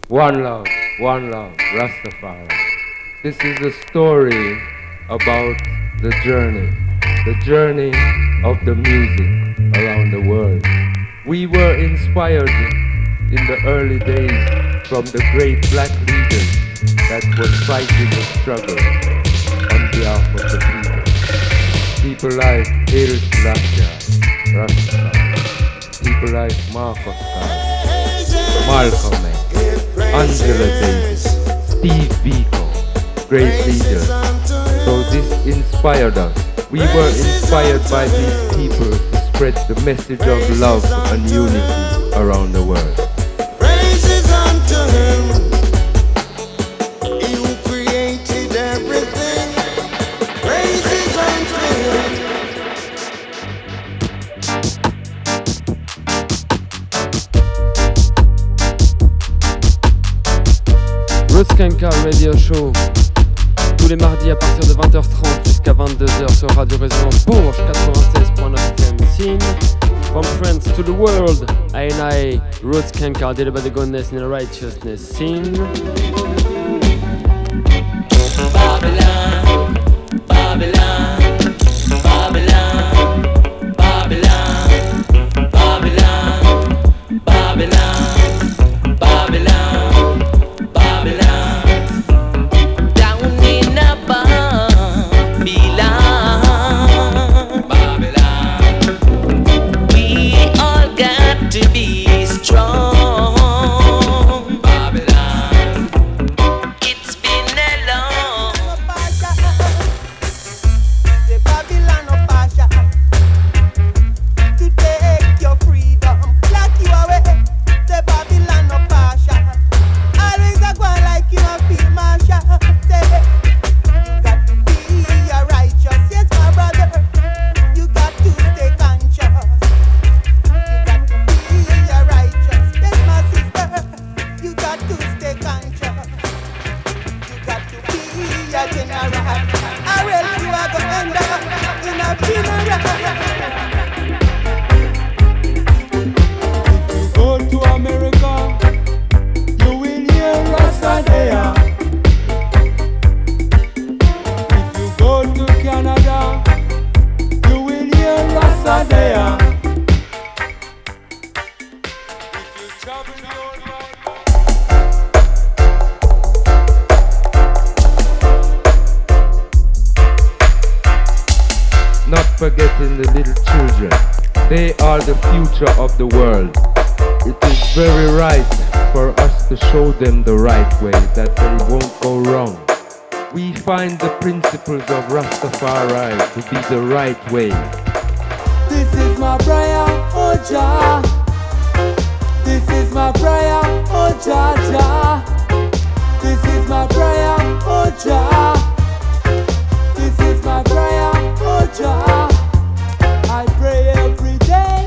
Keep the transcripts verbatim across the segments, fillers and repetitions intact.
One love, one love, Rastafari. This is a story about the journey, the journey of the music around the world. We were inspired in the early days from the great black leaders that were fighting the struggle on behalf of the people. People like Haile Selassie, Rastafari. People like Marcus Garvey, Malcolm X, Angela Davis, Steve Biko, great leaders. So this inspired us. We were inspired by these people to spread the message of love and unity around the world. Praises unto him, he who created everything. Praises unto him. Roots Skankers Radio Show, tous les mardis à partir de vingt heures trente jusqu'à vingt-deux heures sur Radio Résonance Bourges quatre-vingt-seize point neuf F M. Scene from France to the world. I and I, Roots Skankers, did about the goodness and the righteousness. Scene. Babylon, Babylon, Babylon, Babylon, Babylon, Babylon, Babylon, Babylon. Down in a Babylon, Babylon. We all got to be strong. Forgetting the little children. They are the future of the world. It is very right for us to show them the right way, that they won't go wrong. We find the principles of Rastafari to be the right way. This is my prayer, oh Jah. This is my prayer, oh Jah Jah. This is my prayer, oh Jah. This is my prayer, oh Jah. I pray every day.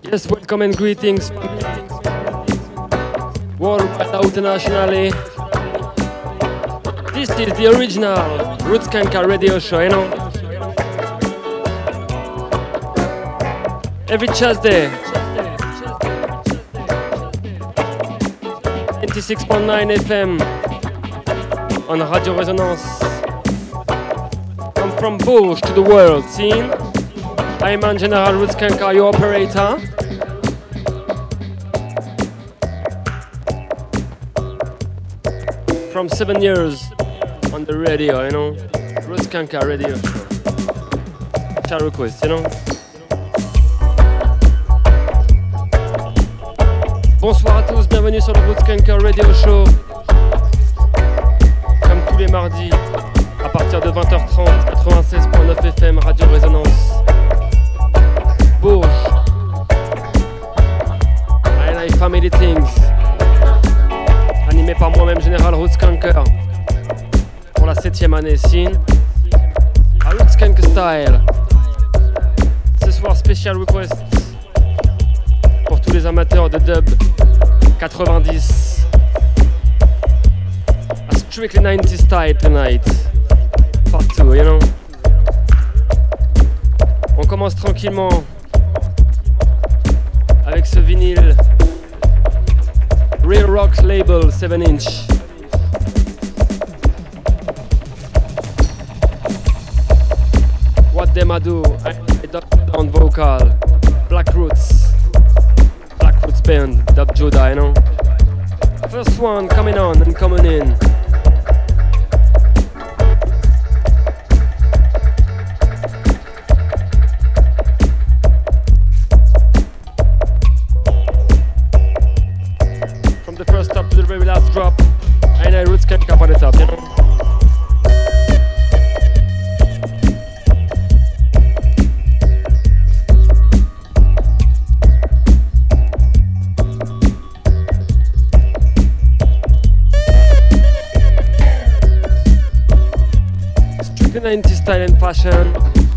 Yes, welcome and greetings. Worldwide out internationally. This is the original Roots Kanka radio show, you know. Every Tuesday. ninety-six point nine F M on Radio Resonance. I'm from Bourges to the world, scene. I'm in General Roots Kanka, your operator. From seven years on the radio, you know. Roots Kanka radio show. Chat request, you know. Bonsoir à tous, bienvenue sur le Roots Kanka Radio Show. Comme tous les mardis, à partir de vingt heures trente, quatre-vingt-seize point neuf F M, Radio Résonance. Bourges. And I Family Things. Animé par moi-même, Général Roots Kanka. Pour la septième année, scene. À Roots Kanka Style. Ce soir, special request. Pour tous les amateurs de dub quatre-vingt-dix. A strictly nineties style tonight. Part two, you know. On commence tranquillement avec ce vinyle Real Rock Label seven inch. What Them I Do, I Down Vocal, Black Roots. Roots Band, Dub Judah, you know. First one coming on and coming in. From the first top to the very last drop, and I Roots Kanka up on the top, you know. nineties style and fashion.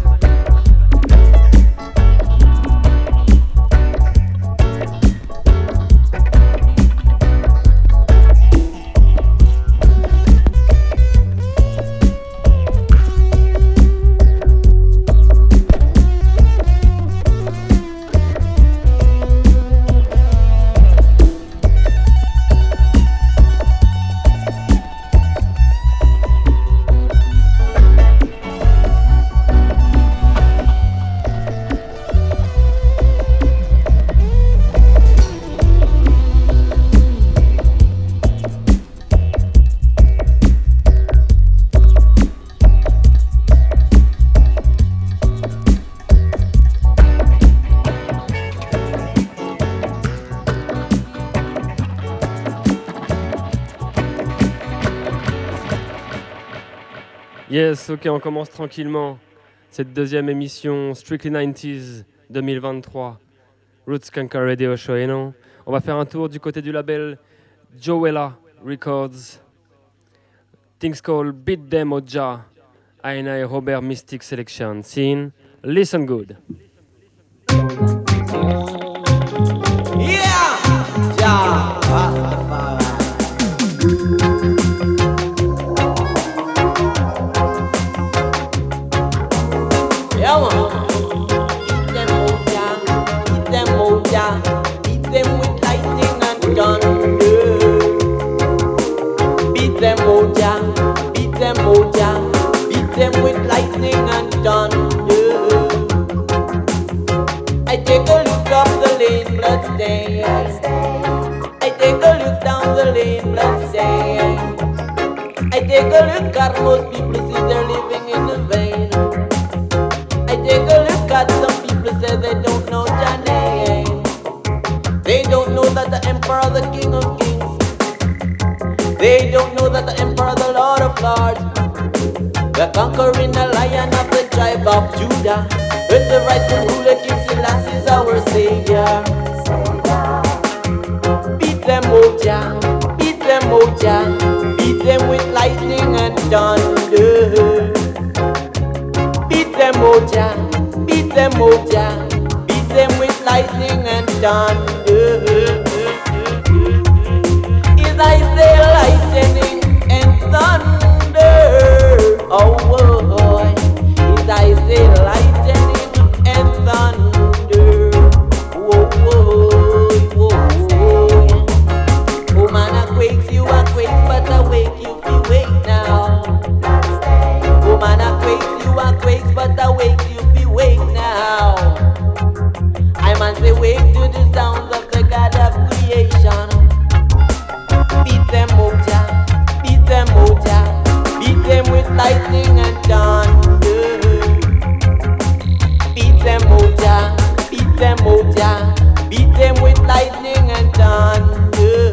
Yes, ok, on commence tranquillement cette deuxième émission Strictly nineties deux mille vingt-trois, Roots Kanka Radio Show, you know. On va faire un tour du côté du label Joella Records. Things called Beat Them Oja, Aina Robert Mystic Selection. Scene, listen good. Yeah! Yeah! Beat them Oja, beat them Oja, beat them with lightning and thunder. Beat them Oja, beat them Oja, beat them with lightning and thunder. I take a look up the lane, blood stains. I take a look down the lane, blood stains. I take a look at most people, see they're living in the vein. I take a look at some people, say they don't know Jah name. They don't know that the Emperor, the King of Kings. They don't know that the Emperor, the Lord of Lords, the conquering the Lion of the tribe of Judah, with the rightful ruler, King Selassie is our Savior. Beat them, Oja, beat them, Oja, beat them with lightning and thunder. Beat them, Oja, beat them, Oja, beat them with lightning and thunder. Is I say lightning and thunder. Oh boy, is I say lightning and thunder. Whoa, whoa, whoa, whoa. Oh man, I quakes you, I quakes, but I wake you, you wake now. Oh man, I quakes you, I quakes, but I wake you, you wake now. I man say wake to the sounds of the God of creation. Beat them, Moja, beat them, Moja, beat them with lightning and thunder. Beat them, Moja, beat them, Moja, beat them with lightning and thunder.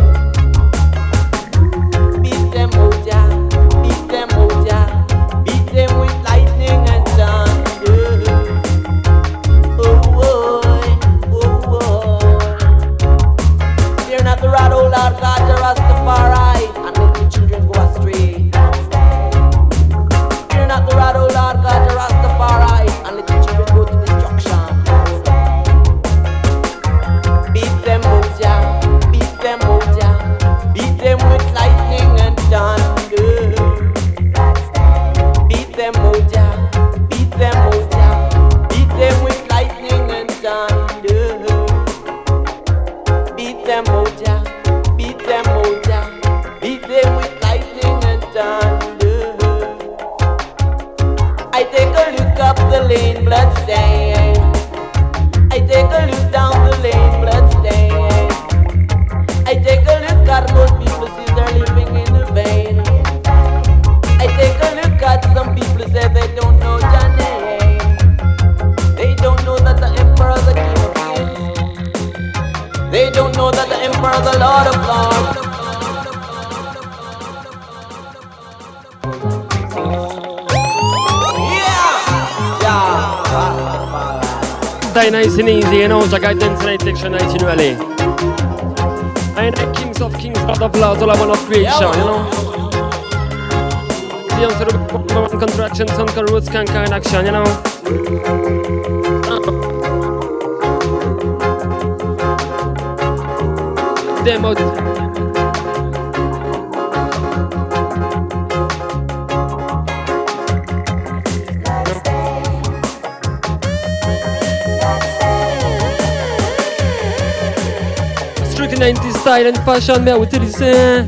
Beat them, Moja, beat them, Moja, beat them with lightning and thunder. Oh boy, oh boy. Fear not the rod, oh Lord God, the Rastafari, and let the children go astray. Fear not the rod, oh Lord God, the Rastafari, and let the children go to destruction. Beat them, Moja, beat them, Moja, beat them with lightning and thunder. Beat them, Moja, beat them, Moja, beat them with lightning and thunder. Beat them, Moja, beat them, Moja, beat them with lightning and thunder. I take a look up the lane, blood stain. I take a look down the lane, blood stain. I take a look at most people see they're living in the vein. I take a look at some people say they don't know your name. They don't know that the emperor is the king of kings. They don't know that the emperor is the lord of lords. Die nice and easy, you know, Jack Dance Night Section night in Valley. I am Kings of Kings, Lord of Lords, all I want of creation, you know. Beyond the contraction, some called roots can in action, you know. Demo. Strictly nineties style and fashion, mais où utiliser.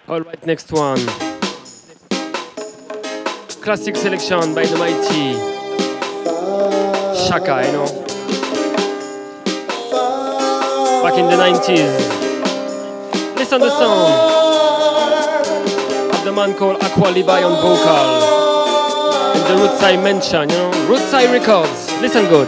Alright, next one. Classic selection by the mighty Shaka, you know. Back in the nineties. Listen to the song of the man called Aqua Levi on vocal. And the Rootside mention, you know. Rootside Records. Listen good.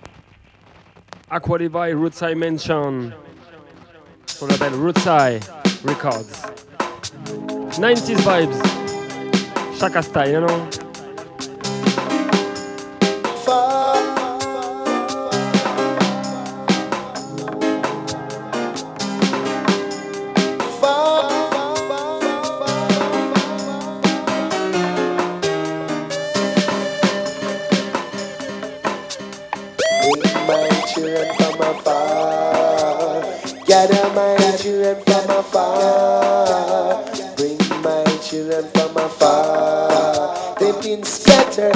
Aqua Levi, Rootside Mention, qu'on appelle Rootside. Records. nineties vibes. Shaka style, you know? Gather my children from afar, bring my children from afar. They've been scattered.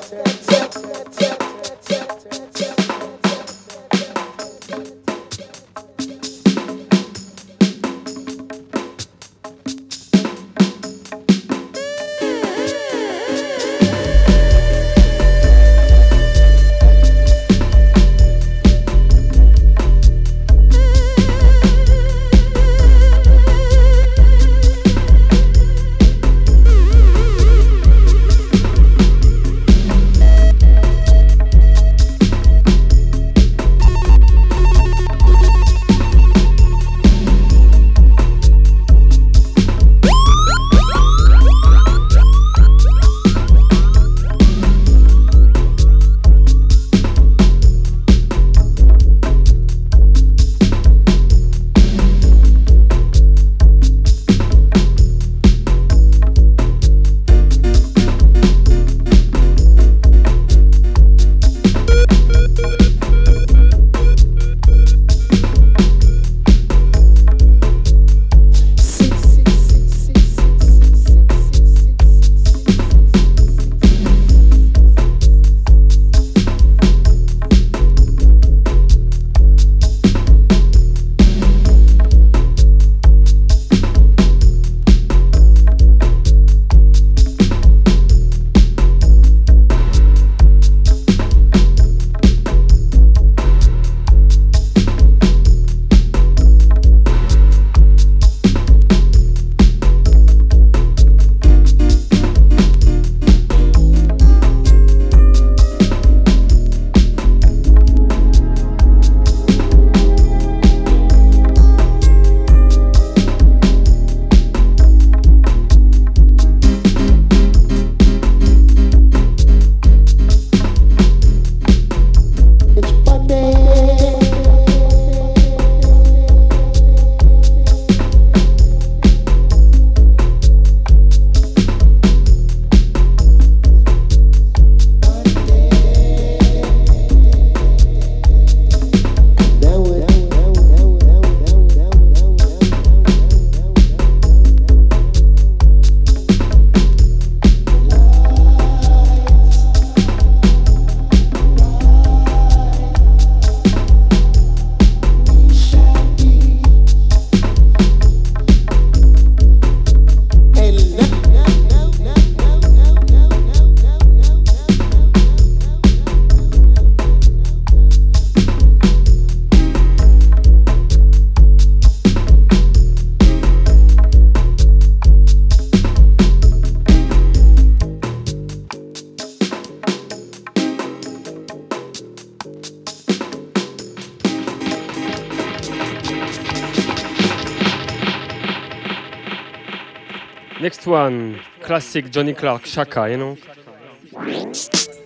Next one, classic Johnny Clark, Shaka, you know. Rosie,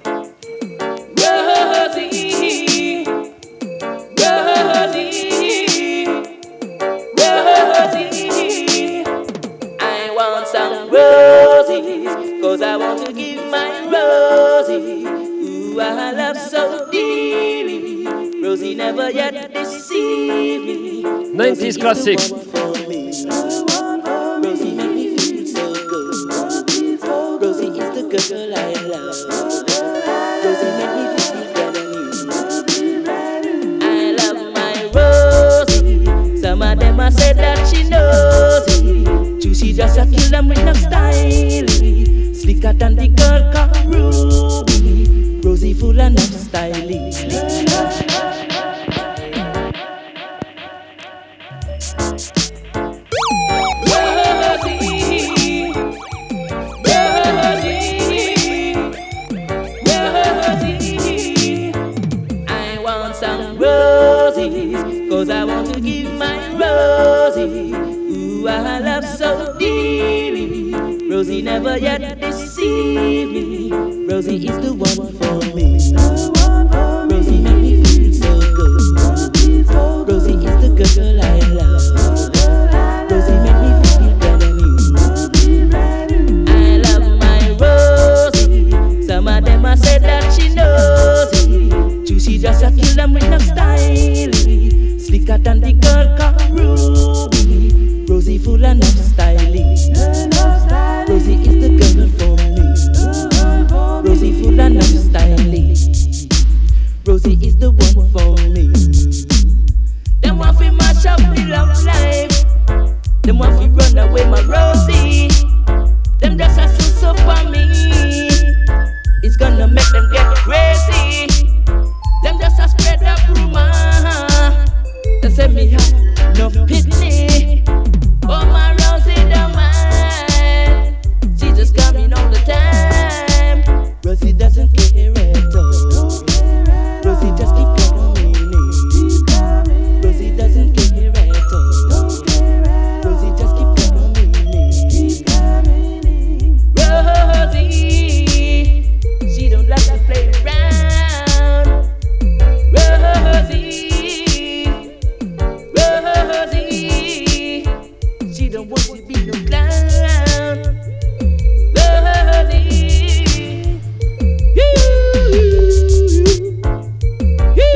Rosie, Rosie, I want some roses, cause I want to give my Rosie, who I love so dearly. Rosie never yet deceived me. nineties classic. Girl I love, Rosie make me feel brand new. I love my Rosie. Some of them a say that she knows it. Juicy just a kill them with no style. Slicker than the girl called Ruby. Rosie full and not stylish. Cause I want to give my Rosie, Ooh, I love so dearly. Rosie never yet deceived me. Rosie is the one for me. Rosie make me feel so good. Rosie is the girl I love. Rosie make me feel brand new. I love my Rosie. Some of them a say that she knows it. She just a kill them with no style. Slicker than the girl called Ruby. Rosie full of no styling. Rosie is the girl for me. Rosie full of no styling. Rosie is the one for me. Them want to match up the love life. Them want to run away my Rosie. Them just a so for me. It's gonna make them get crazy. Them just a spread up rumor. They say me have no pity. Oh, my Rosie don't mind. She just coming all the time. Rosie doesn't care at all. Rosie just keep coming in. Rosie doesn't care at all. Rosie just keep coming in. Rosie, she don't like to play around. Rosie, Rosie, she don't want to be no clown. Rosie, you, you,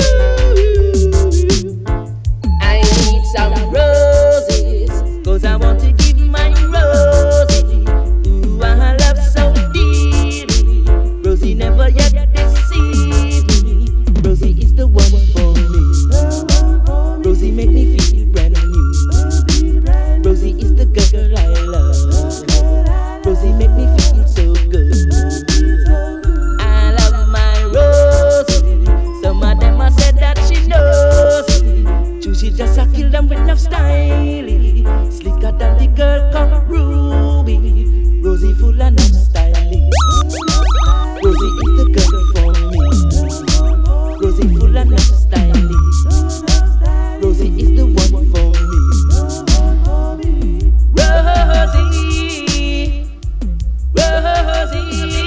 I need some roses, 'cause I want to give my Rosie. Ooh, I love so dearly. Rosie never yet deceived me. Rosie is the one for me. Rosie make me feel brand new. Rosie is the girl I love. Rosie make me feel so good. I love my Rosie. Some of them a said that she knows it. She just a kill them with no style. Slicker than the girl called Ruby. Rosie full of no styling. Rosie is the girl for me. Rosie full of no styling. Rosie is the one for me. Rosie, Rosie.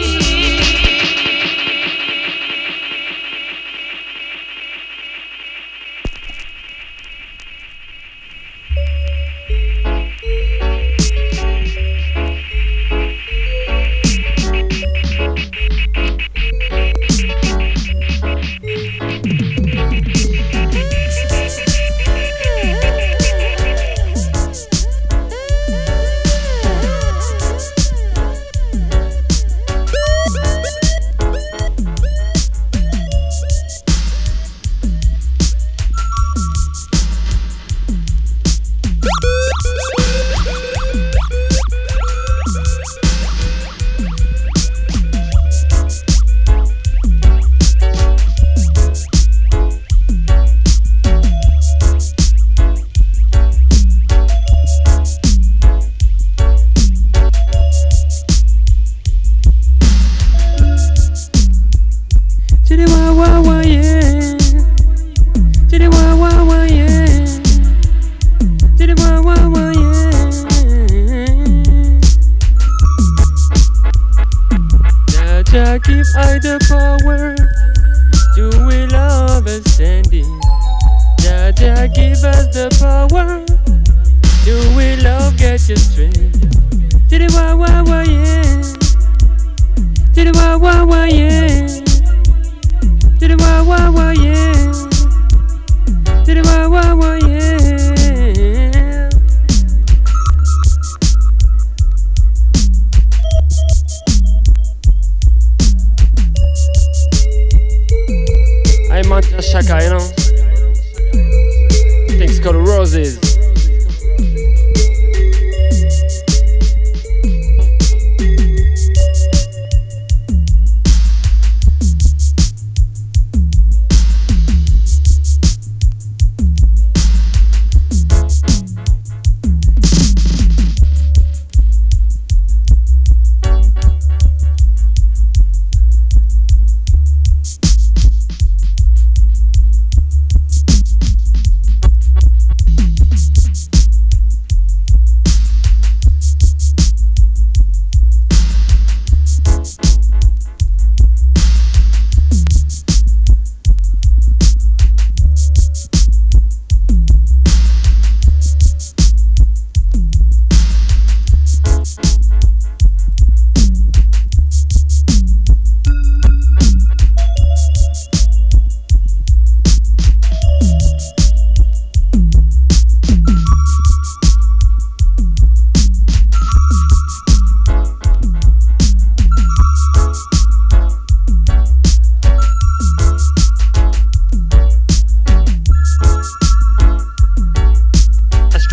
Give I the power to will understanding. Jah Jah give us the power to will love get your strength. To the wah wah wah yeah. To the wah wah wah yeah. To the wah wah wah yeah. To the wah wah wah yeah. I Mantra Shaka, you know. Things called Roses.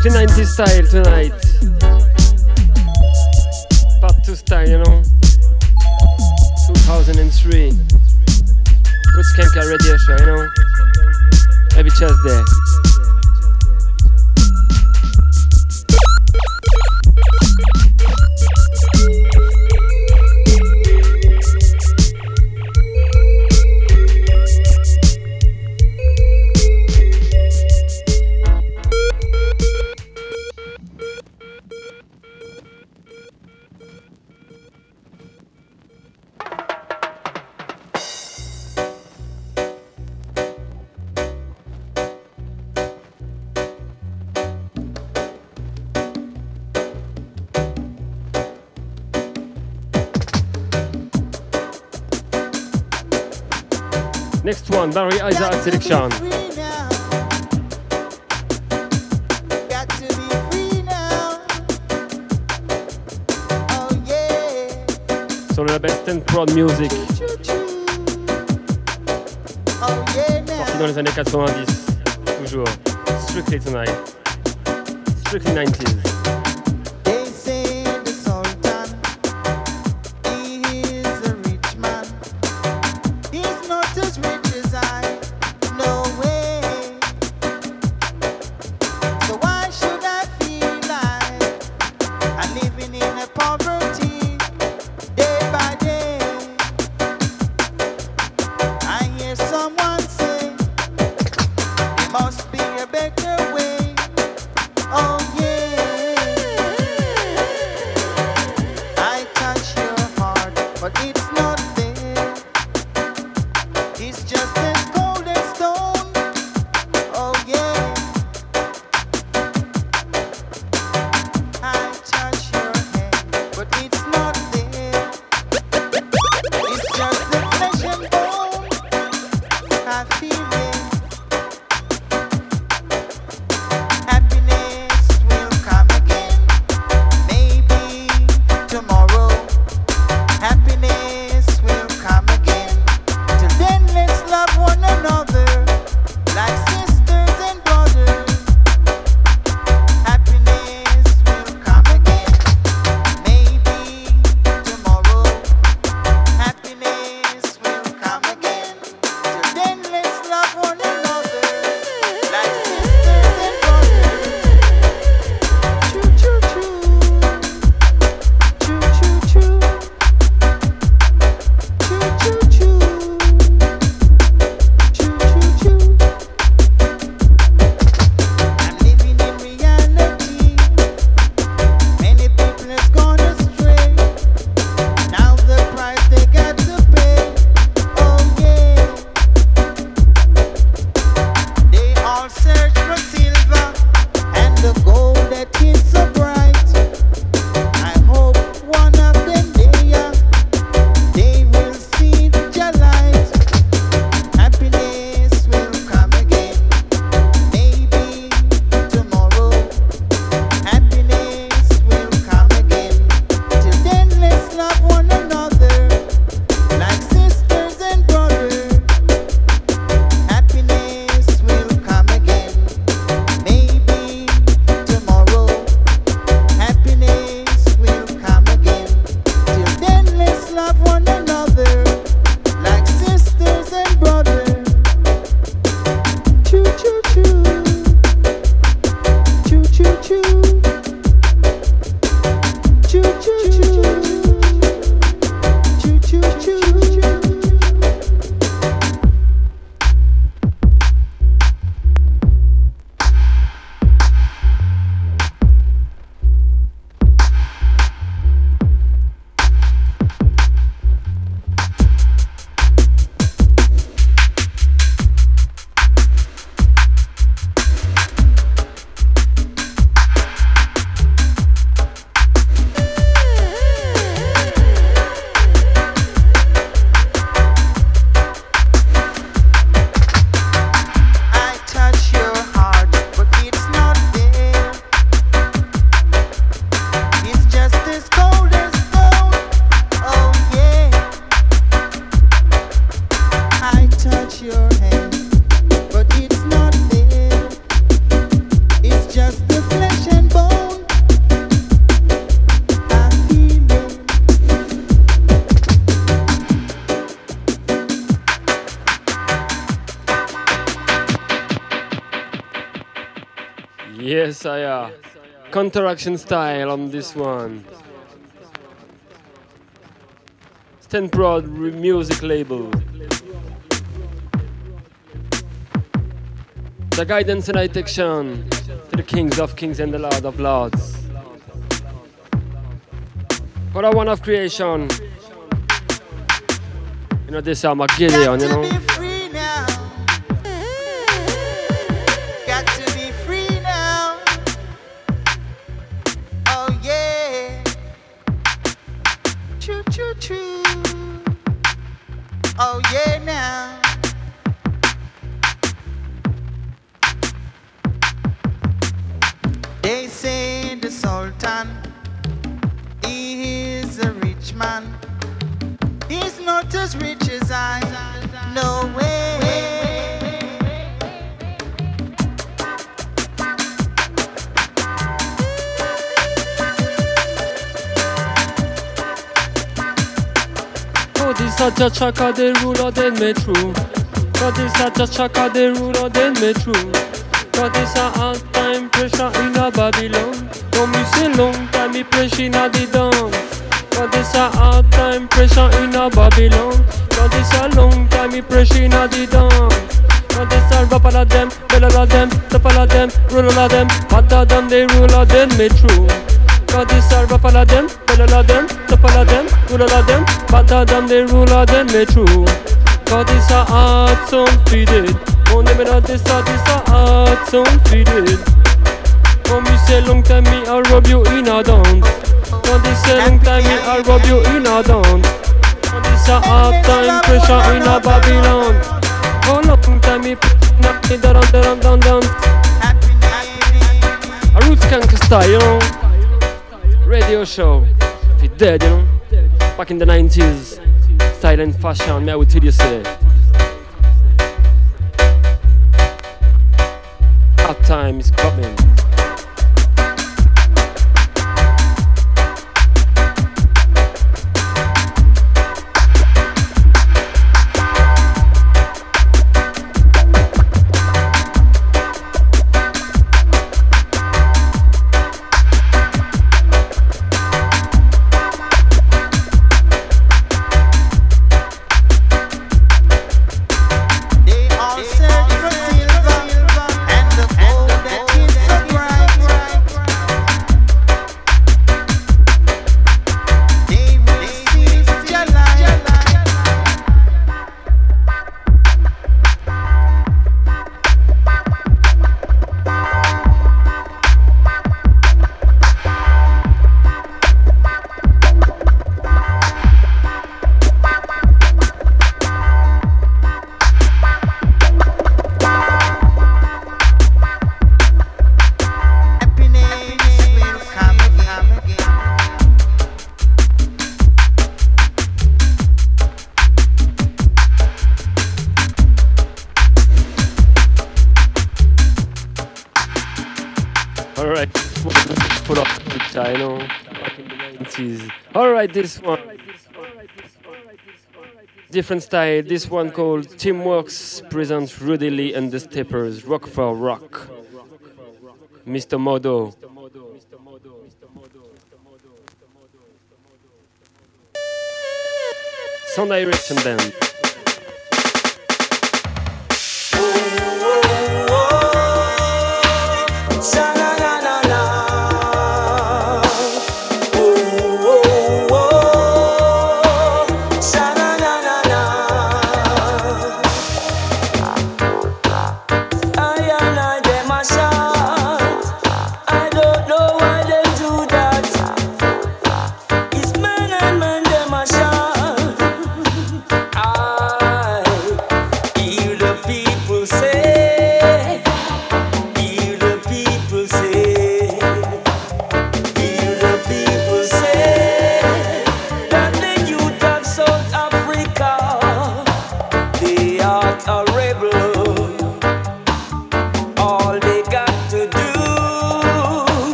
Strictly nineties style tonight. Part two style, you know. two thousand three. Good Skanker radio show, you know. Every Tuesday. Next one, Barry Isaac selection. Sur le label Stand Proud Music. Sorti dans les années quatre-vingt-dix. Toujours. Strictly tonight. Strictly nineties. Must be a better way. Oh yeah. Yes, I uh, counteraction style on this one. Stand Proud music label. The guidance and direction to the kings of kings and the lord of lords. For the one of creation. You know, this is Armageddon, you know. Oh yeah now. They say the Sultan, he is a rich man. He's not as rich as I. No way. God is such a chaka, the ruler, then me true. God is such a chaka, the ruler, then me true. God is a hard time pressure in a Babylon. Don't me say long time me pressure in a the dance. God is a hard time pressure in a Babylon. God is a long time me pressure in a the dance. God is a rap all of them, bell all of them, top all of them, roll all of them, hotter than the ruler, then me true. God is a rap all of them, bell all of them, top all of them, roll all of them, hotter than the ruler, then me true. God is a heart sound feeded. On the middle of this heart is a heart sound feeded. Come me say long time me I'll rob you in a dance. God is a long time me I'll rob you in a dance. God is a hard time pressure in a Babylon. Oh long time me knock me down down down down. A roots skank style, you know. Radio show. If you're dead, you know. Back in the nineties. Style and fashion, me I would tell you say. Hard time is coming. Alright, this one. Different style. This one called Teamworks presents Rudy Lee and the Steppers. Rock for Rock. Mister Modo. Sound Direction Band. Ah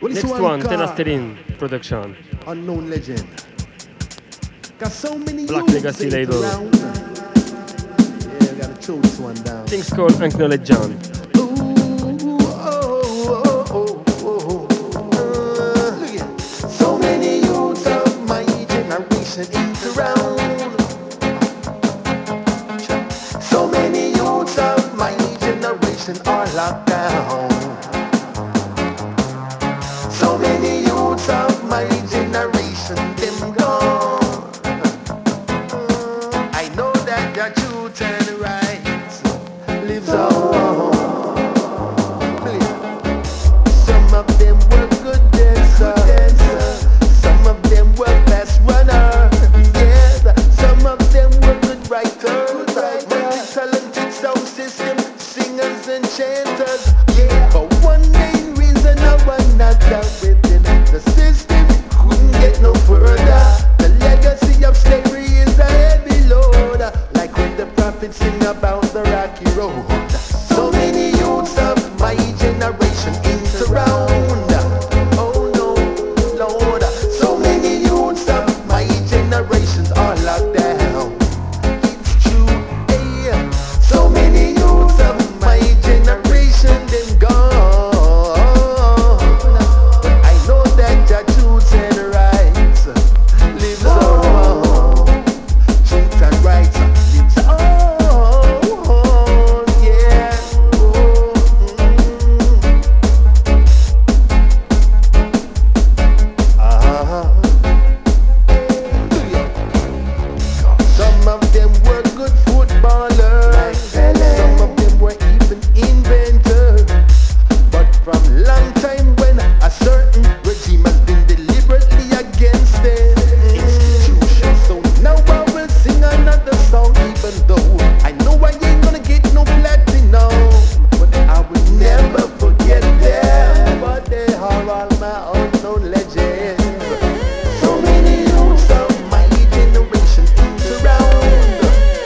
Next one, Tenastelin production. Unknown legend. Got so many Black youths Legacy ain't label. around. Yeah, we gotta choke this one down. Things called Acknowledge John. Ooh, oh, oh, oh, oh, oh. Uh, look at so many youths of my generation ain't around. So many youths of my generation are locked down. So many youths of my generation, them gone. I know that the truth and right lives on. Some of them were good dancers, some of them were fast runners, yes. Some of them were good writers, multi-talented sound system singers and chanters, yeah. But one main reason or another within the system couldn't get no further. The legacy of slavery is a heavy load, like when the prophets sing about the rocky road. So many youths of my generation ain't around. Oh no, Lord. So many youths of my generations are locked down. It's true, hey. So many youths of my generation them gone. But I know that the truth and rights lives on. Truth and rights lives on, yeah. Oh, mm. Uh-huh. Some of them were good footballers, some of them were even inventors. But from long time when a certain regime has been deliberately against the institution, so now I will sing another song, even though I know I ain't gonna get no platinum, but I will never forget them. But they are all my unknown legends. So many youths of my generation ain't around.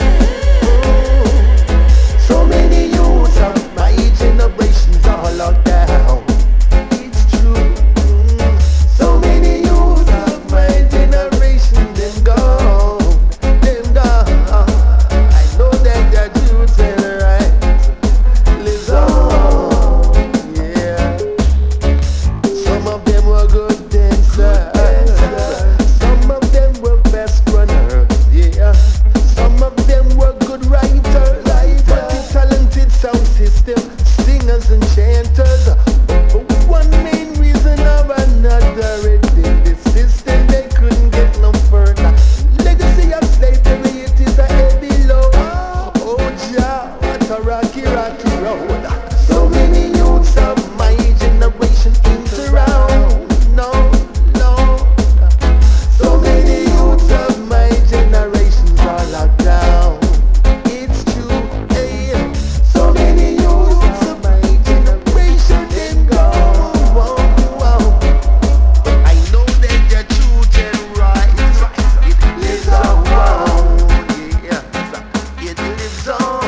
So many youths of my generations are locked down. It's true. So many youths of my generation, them gone, them gone. I know that the truth and right lives on. Yeah. Some of them were good dancers. Some of them were best runners. Yeah. Some of them were good writers. Multi-talented sound system singers and chanters. But for one main reason or another, within the system they couldn't get no further. Legacy of slavery, it is a heavy load. Oh Jah, what a rocky, rocky road. So many youths of my generation ain't around. No, no. So many youths of my generations are locked down. It's true, hey. So many youths of my generation them gone. Whoa, whoa. But I know that the truth and right, it lives on. Yeah, it lives on.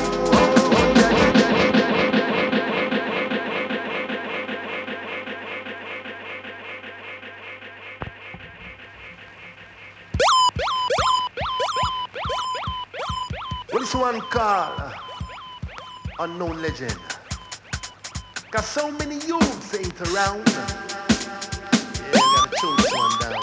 What is one call? Unknown legend. Cause so many youths ain't around. Yeah, gotta choke this one down.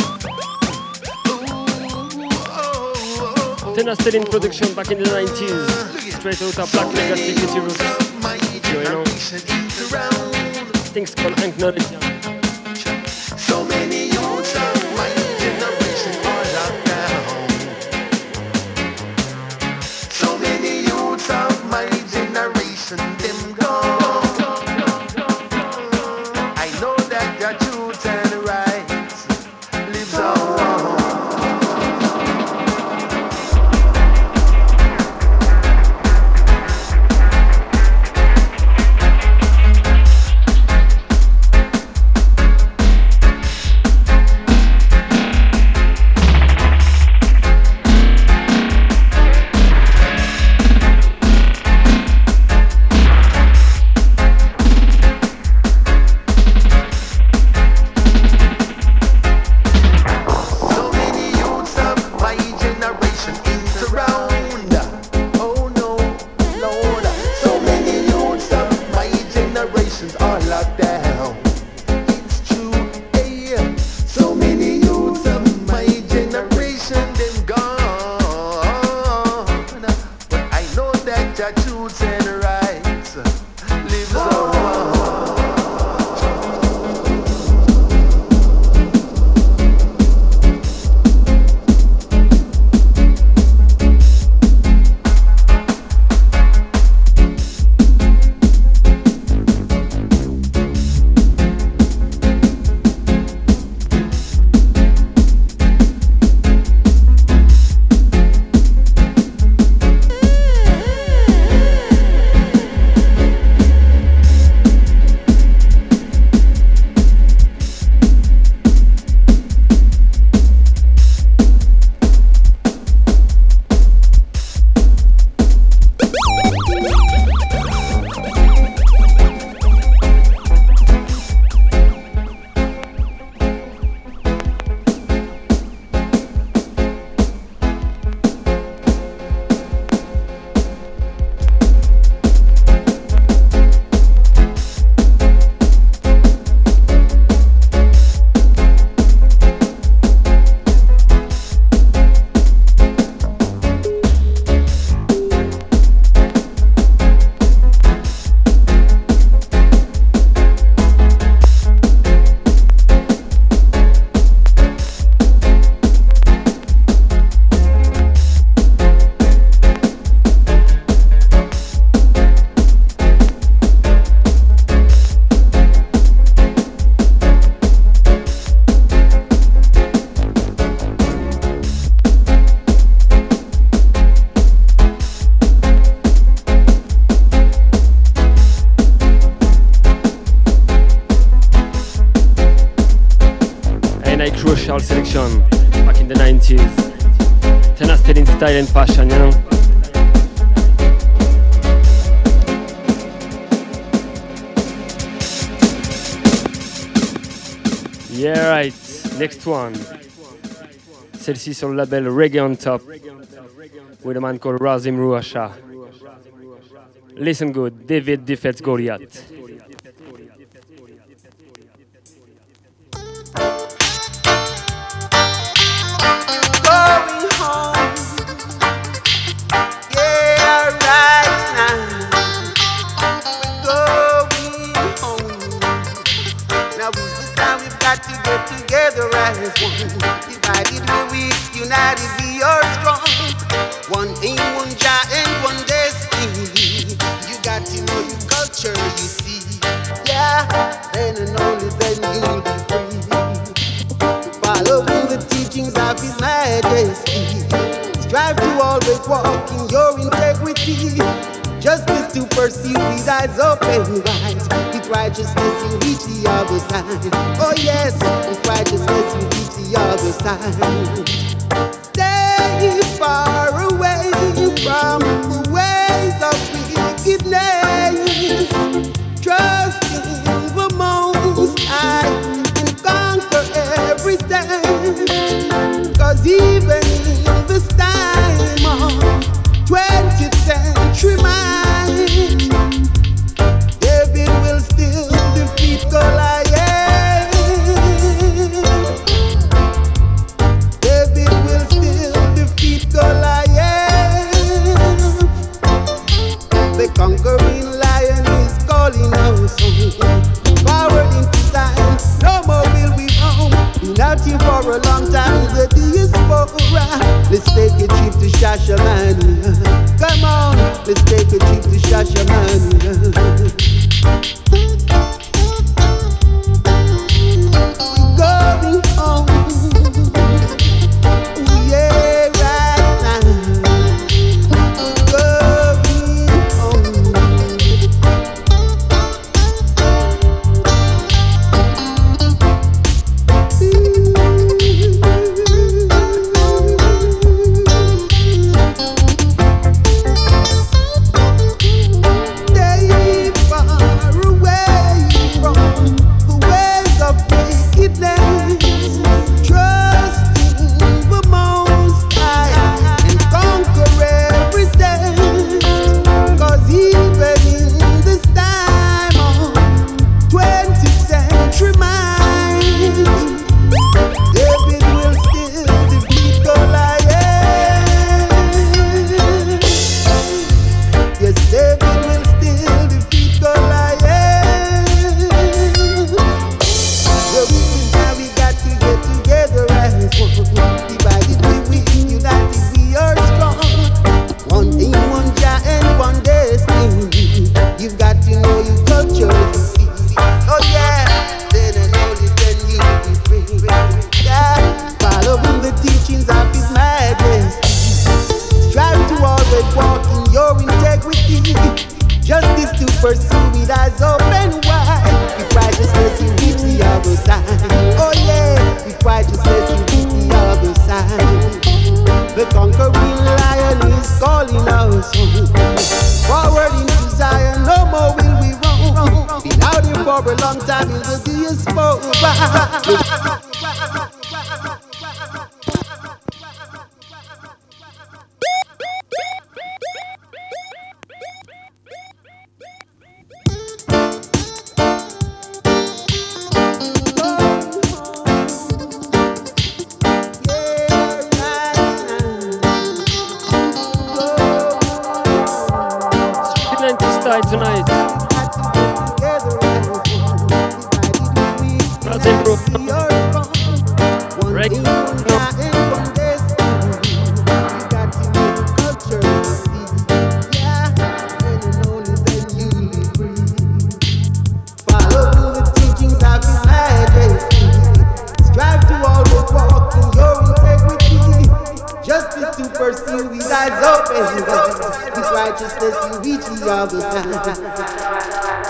Ooh, oh, oh, oh, Tenastelin production back in the nineties. Straight out of Black Legacy City Roots. of my generation ain't around. Things called Acknowledge John. So many youths of my generation are locked down. So many youths of my generation, them gone. I know that the truth and rights lives on. truths and rights lives on. Crucial selection back in the nineties. Ten are still in style and fashion, you know. Yeah, right. Next one. Celle-ci sur le label Reggae on Top with a man called Razim Ruasha. Listen good. David defeats Goliath. Together as one, divided we're weak, united we are strong. One aim, one giant, one destiny. You got to know your culture, you see. Yeah, then and only then you'll be free. Following the teachings of His Majesty. Strive to always walk in your integrity. Justice to pursue with eyes open wide. With righteousness you reach the other side. Oh yes, with righteousness you reach the other side. Stay far away from the ways of wickedness. Trust in the Most High and conquer every test. Cause even in this time of twentieth century mind, David will still defeat Goliath. David will still defeat Goliath. The conquering lion is calling us home. Forward into time, no more will we roam. Been out here for a long time, the diaspora. Let's take a trip to Shashamania. Come on, let's take a trip to Shashamania. We're going home. Ooh, yeah, right now. We're going home. Stay far away pursue with eyes open wide. With righteousness you reach the other side. Oh yeah, with righteousness you reach the other side. The conquering lion is calling us forward into Zion. No more will we run. Been out here for a long time, it will be a sport. Tonight, Break. Pursue with eyes open, with righteousness you reach the other side.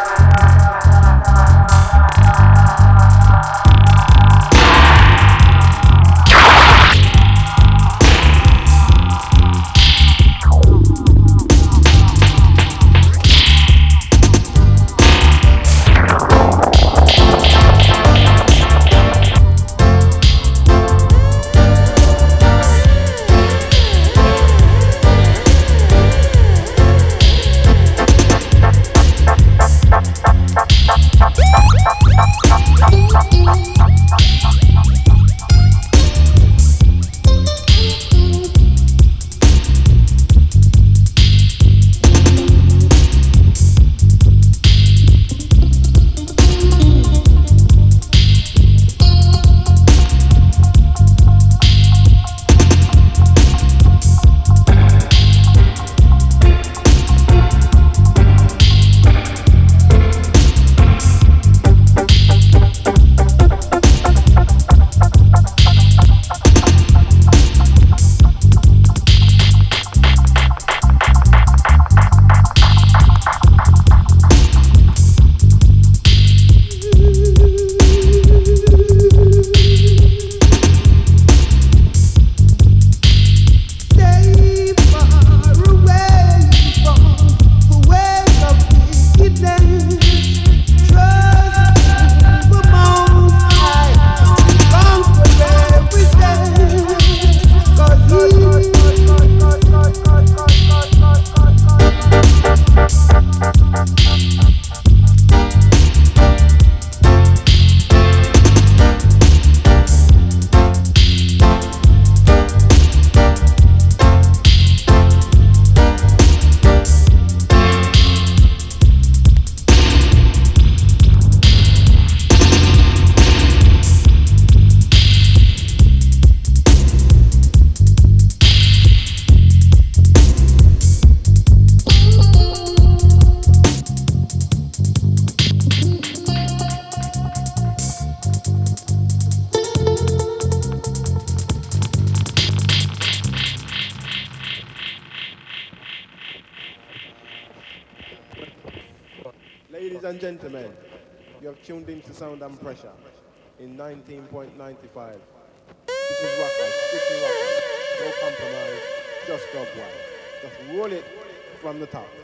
Ladies and gentlemen, you have tuned into Sound and Pressure in nineteen point nine five. This is Rockers, strictly Rockers, no compromise, just dub wild. Just roll it from the top.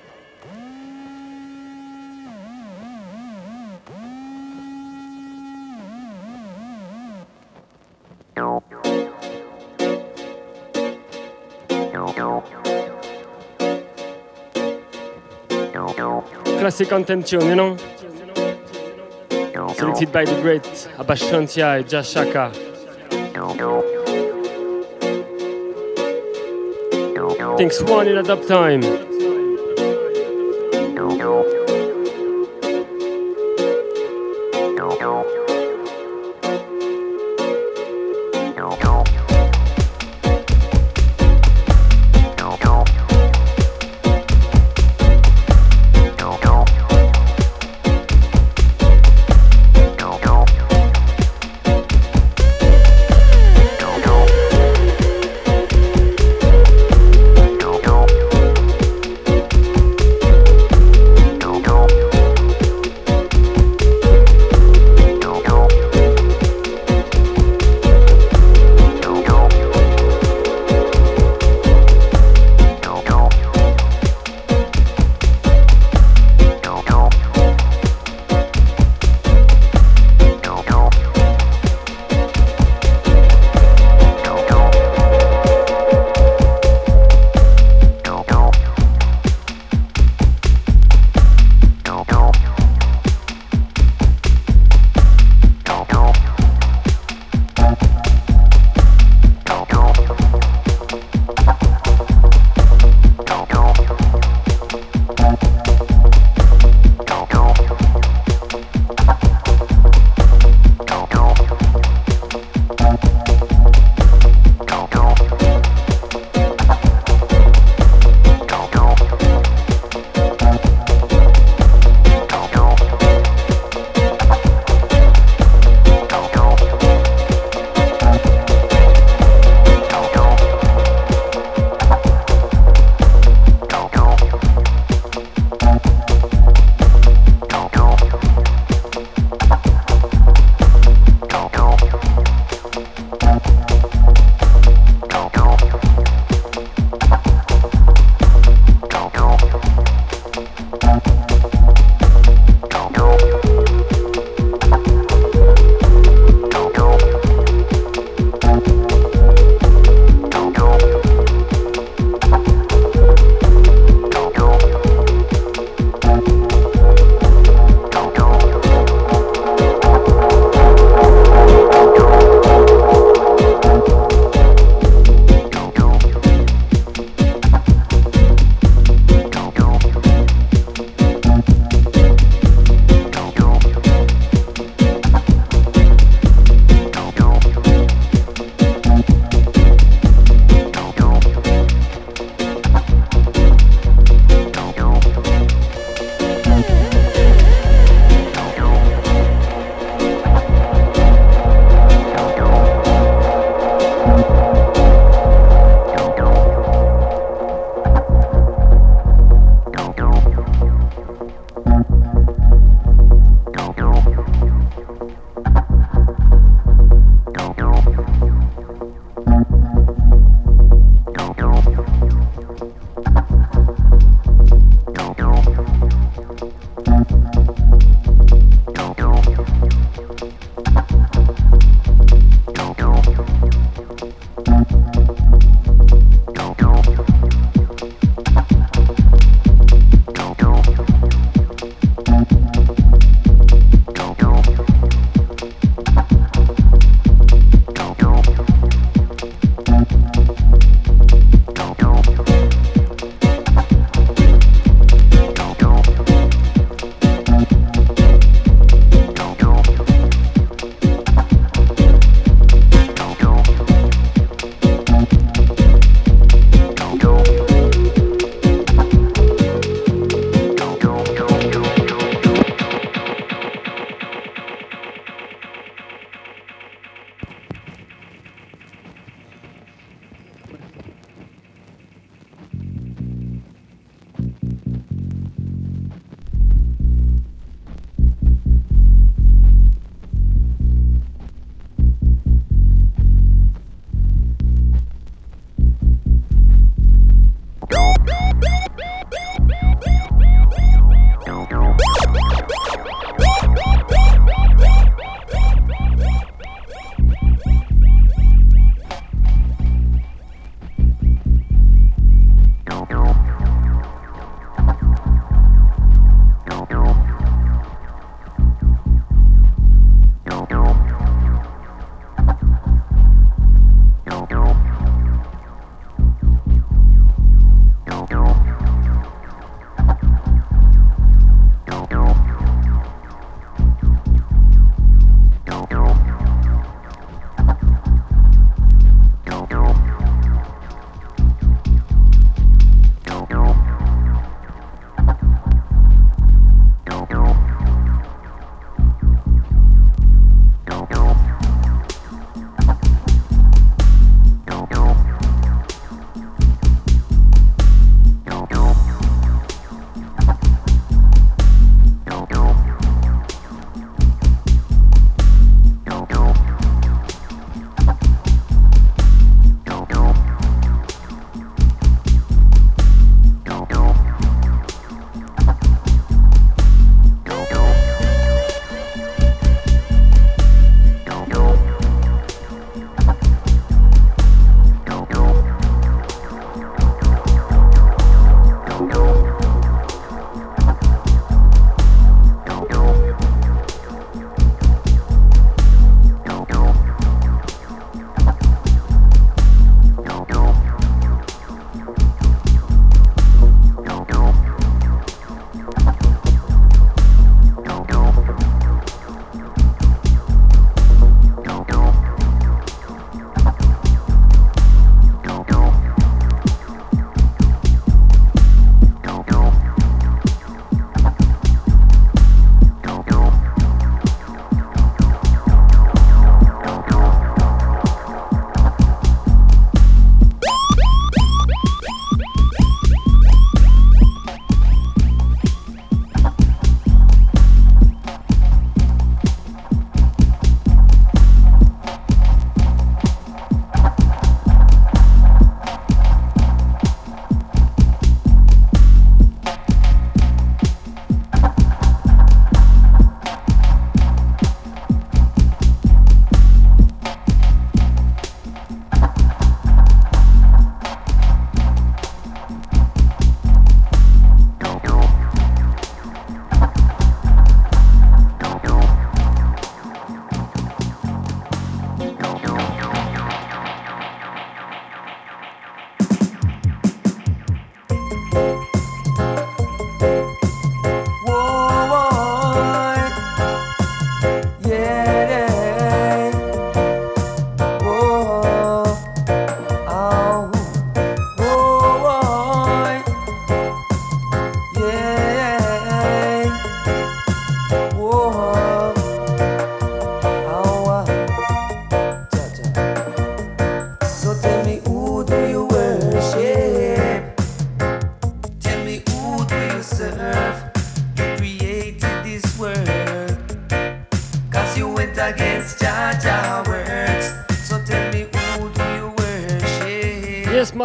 Classic anthem tune, you know? Selected by the great Abbas Shantia and Jah Shaka. Things one in at up time. Go, go.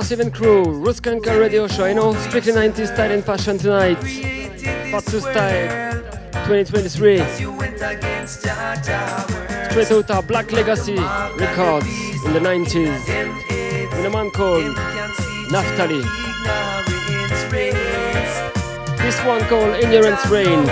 Massive and Crew, Ruskanka Radio Show, you know, strictly nineties style and fashion tonight. Part two style, twenty twenty-three. Straight out our Black Legacy records in the nineties. With a man called Naftali. This one called Ignorance Reigns.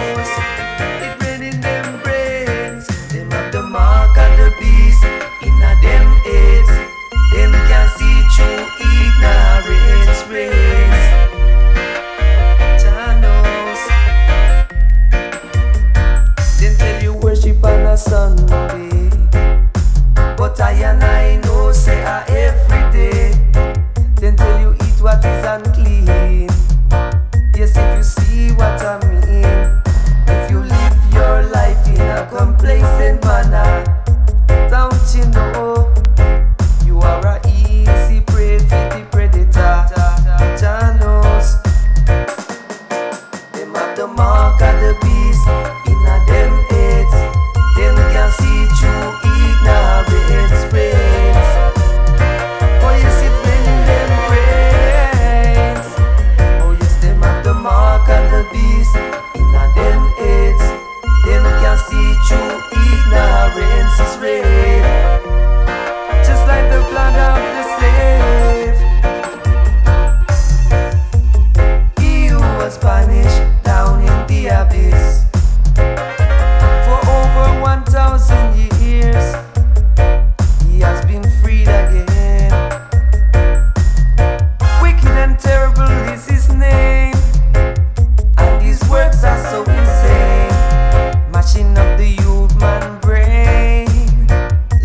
Sunday, but I and I know say I every day. Then tell you eat what is unclean. Yes, if you see what I mean. If you live your life in a complacent manner, don't you know you are a easy prey for the predator. Jah knows them have the mark of the beast in a them heads. Them can see through ignorance brains. Oh yes, it bring them brains. Oh yes, them have the mark and the beast in a them heads. Them can see through ignorance is rain. Just like the blood of the slave. He who was punished down in the abyss one thousand years, he has been freed again. Wicked and terrible is his name, and his works are so insane, mashing up the youth man brain.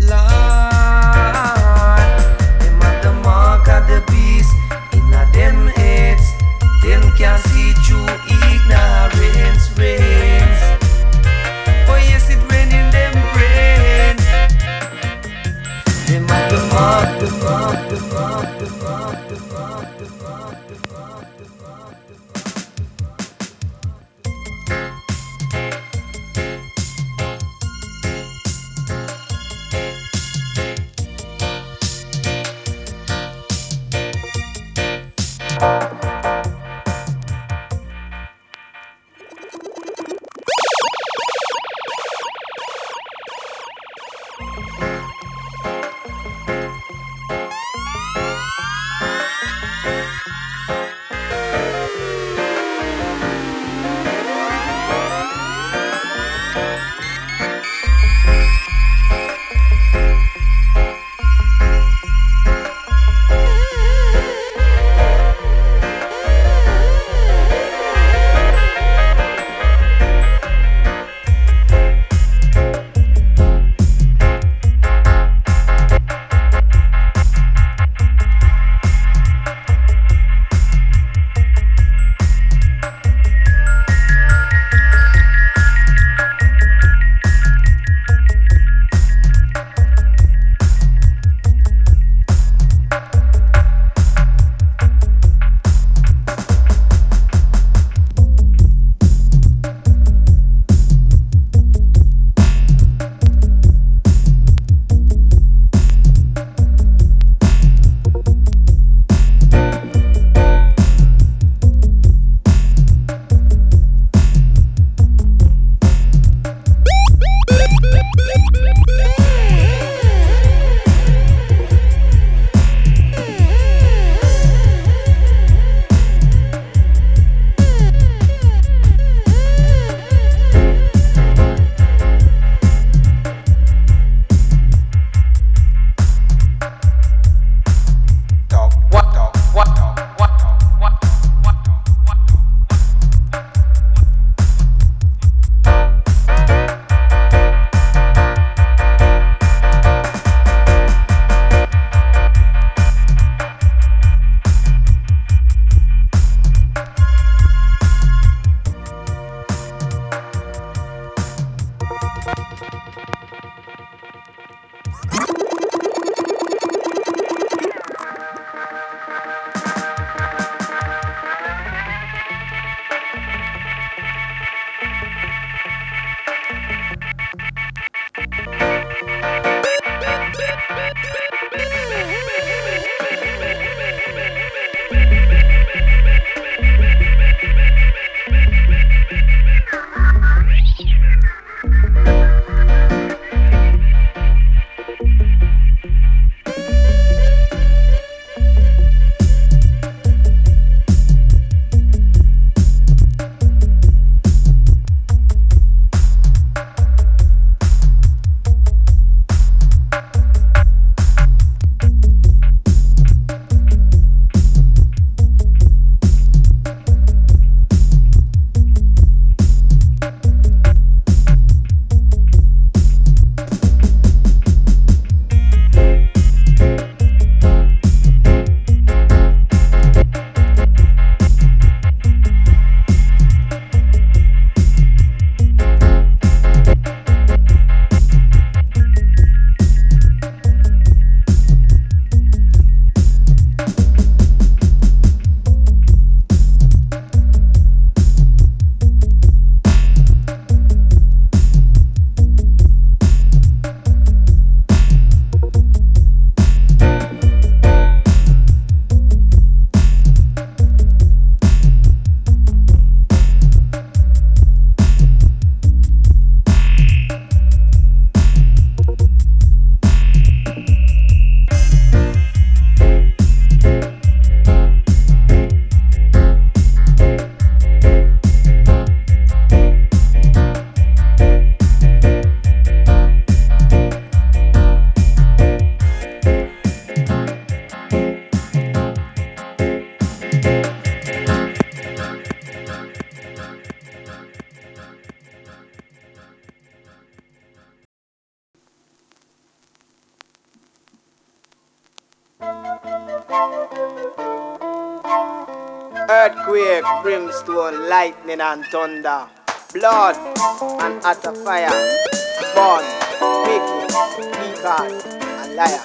Earthquake, brimstone, lightning and thunder, blood and utter fire, born, wicked, wicked and liar.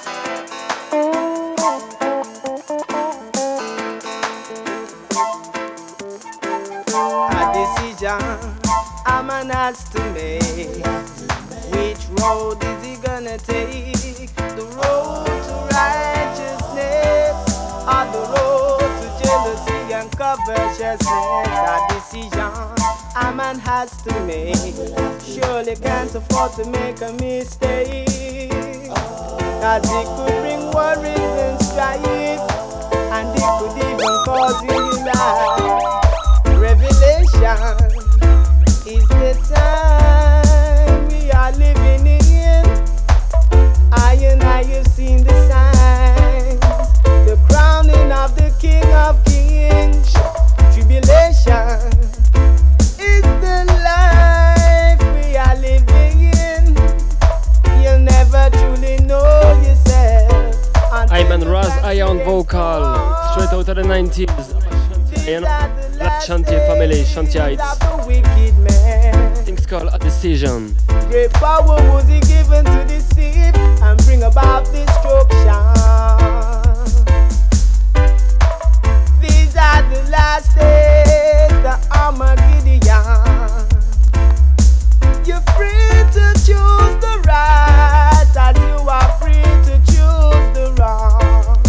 A decision a man has to make. Which road is he gonna take? The road to righteousness or the road to jealousy and covetousness? A decision a man has to make. Surely can't afford to make a mistake, cause it could bring worries and strife, and it could even cause you life. Revelation is the time we are living in. I and I have seen the signs, the crowning of the King of Kings. Tribulation is the life we are living in. You'll never truly know yourself. I'm on Raz Iron Vocal, straight out of the nineties. You know, Black Shanty family, Shantyites. Things called A Decision. Great power was he given to deceive and bring about destruction. These are the last days, the Armageddon. You're free to choose the right as you are free to choose the wrong.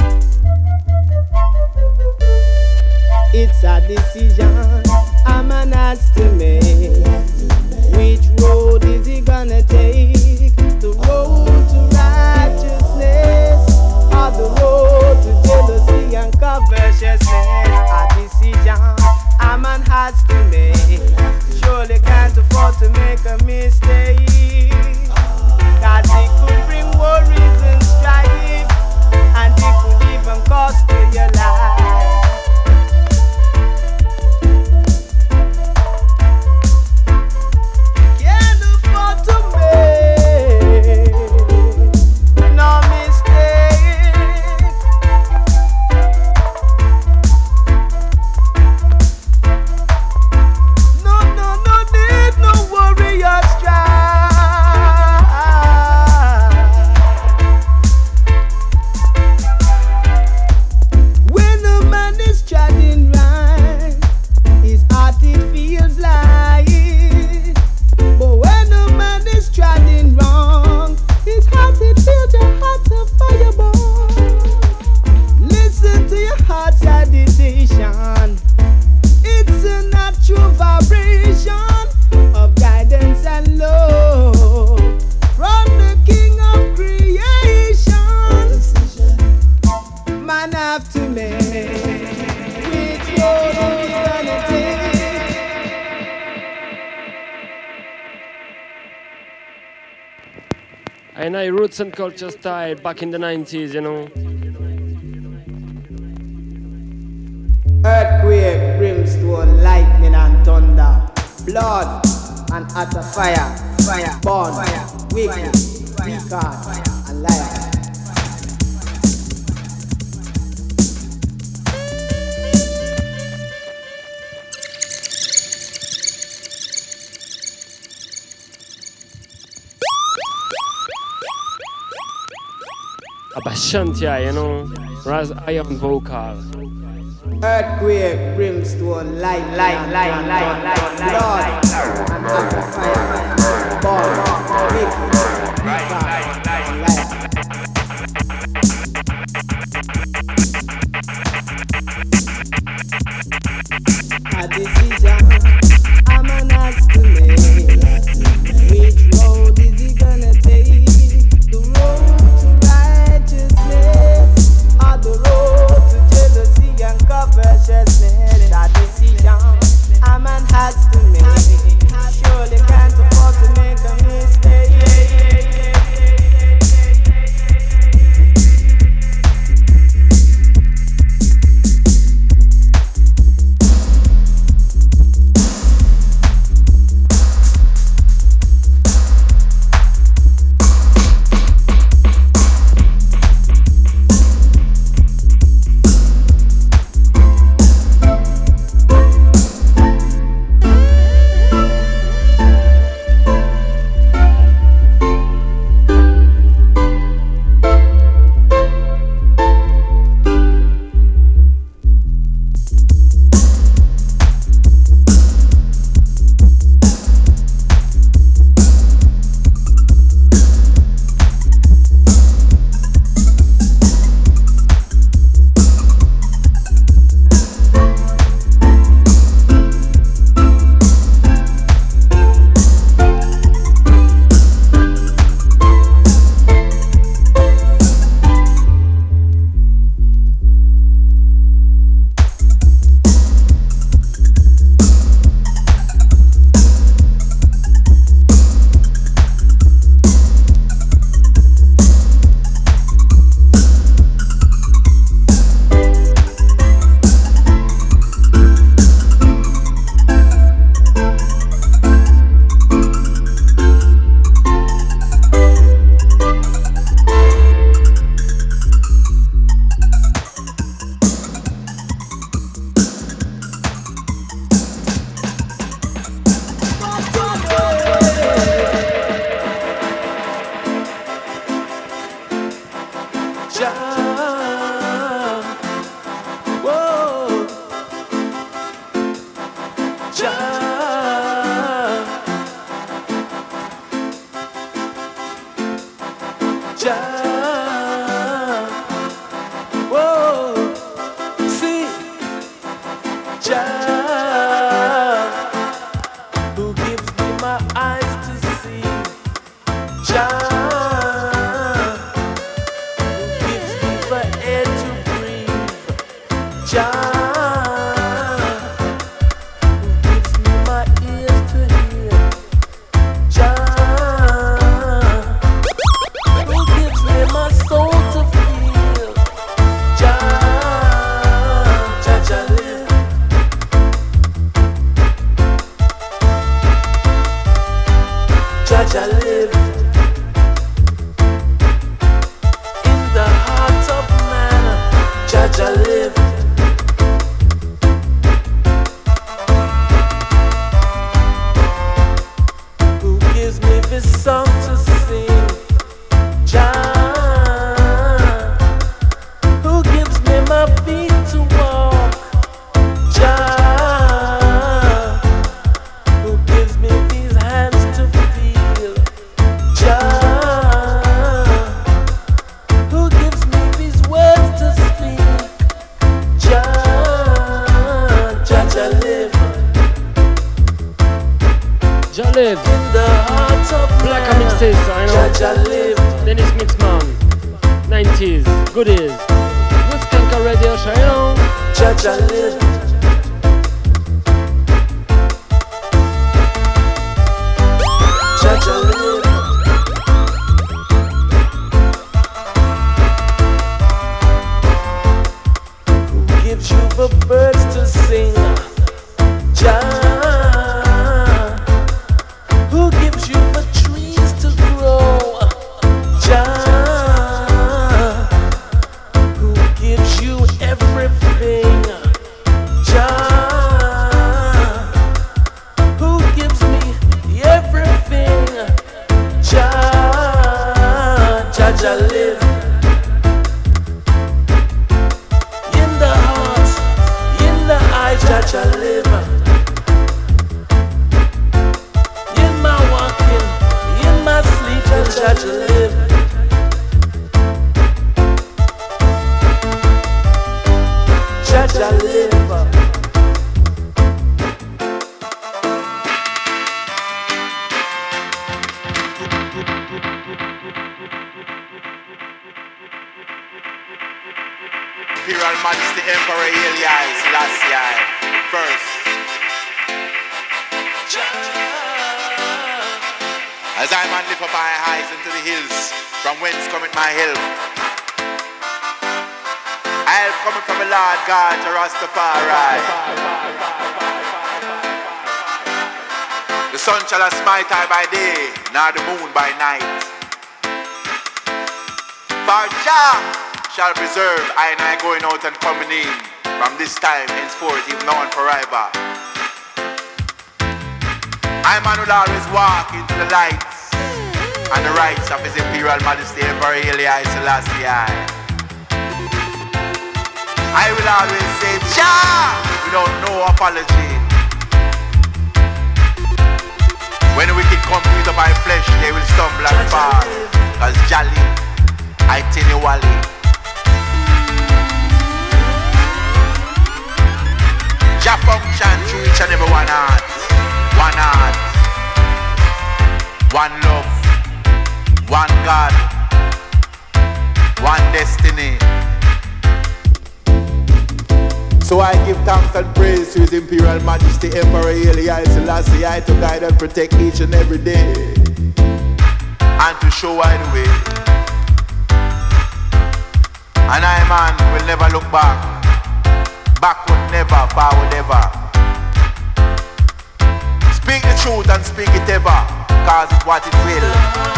It's a decision a man has to make. Which road is he gonna take? The road to righteousness or the road to jealousy and covetousness? A decision a man has to make. Surely can't afford to make a mistake, cause it could bring worries and strife, and it could even cost you your life. And I roots and culture style back in the nineties, you know. Earthquake, brimstone, lightning and thunder, blood and utter fire, fire, born, wicked, wicked and liar. Abashantia, you know, Raz Iron Vocal. Earthquake, brimstone, light, light, light, light, light, blood and utter fire, born, wicked, wicked and liar. A decision a man has to make. Which road is he gonna take? The road to righteousness or the road to jealousy and covetousness? A decision a man has to make. Jah live. In the heart of Black mixes, I know. Jah Jah live. Dennis Mixman. nineties, goodies. Ruskanka Radio Show, you know. Jah Jah live. Jah Jah live. Who gives you the birds to sing? Jah. Who gives you the trees to grow? Jah. Who gives you everything? Jah. Who gives me everything? Jah. Jah Jah live. In the heart, in the eyes, Jah Jah live. In my walking, in my sleep, Jah Jah live. Jah Jah live. Imperial Majesty Emperor Haile Selassie first. As I man lift up my eyes into the hills, from whence cometh my help? I help coming from the Lord God, to Rastafari. The sun shall not smite I by day, nor the moon by night. For Jah shall preserve I and I going out and coming in, from this time henceforth, even now and forever. I man will always walk into the lights and the rights of His Imperial Majesty Emperor Haile Selassie. I will always say Jah without no apology. When the wicked come to eat up my flesh, they will stumble and fall. Cause Jah live, I tell you Wally. Jah function through each and every one heart. One heart, one love, one God, one destiny. So I give thanks and praise to His Imperial Majesty Emperor Haile Selassie I to guide and protect each and every day, and to show I the way. And I, man, will never look back, backward never, forward ever. Speak the truth and speak it ever, cause it's what it will.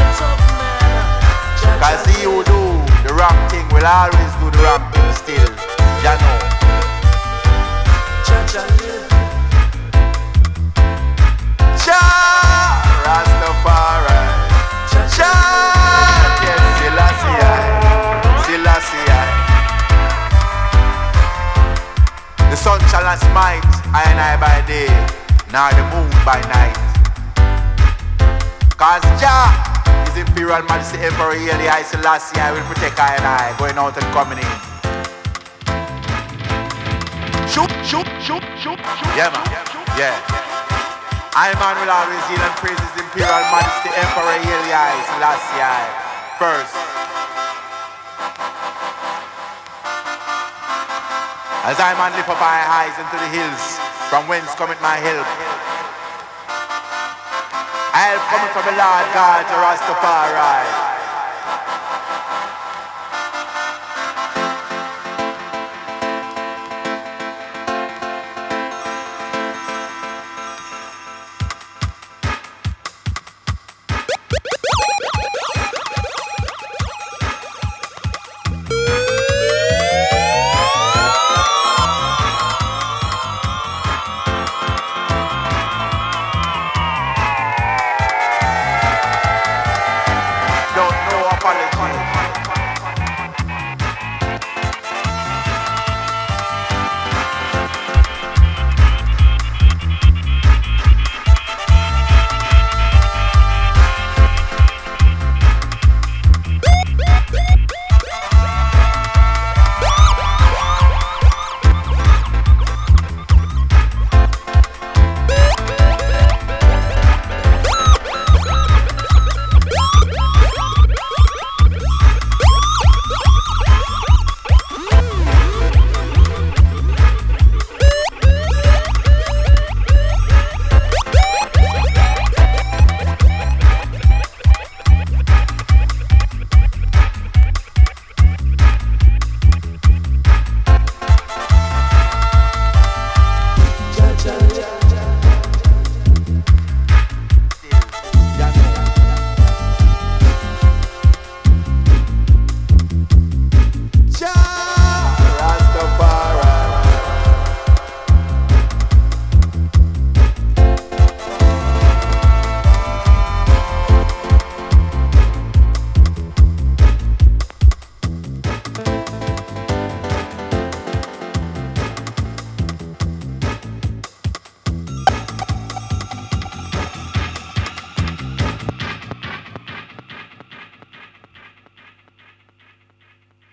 Cause he who do the wrong thing will always do the wrong thing still. Jah know. Jah Rastafari. Jah, yes, Selassie, Selassie. The sun shall not smite I and I by day, nor the moon by night. Cause Jah is Imperial Majesty Emperor Haile Selassie I will protect I and I, going out and coming in. Shoot, shoot, shoot, shoot, shoot. Yeah, man. Yeah. I, man, will always yield and praise His Imperial Majesty Emperor Haile Selassie first. As I, man, lift up my eyes into the hills, from whence cometh my help? I help coming from the Lord God, to Rastafari.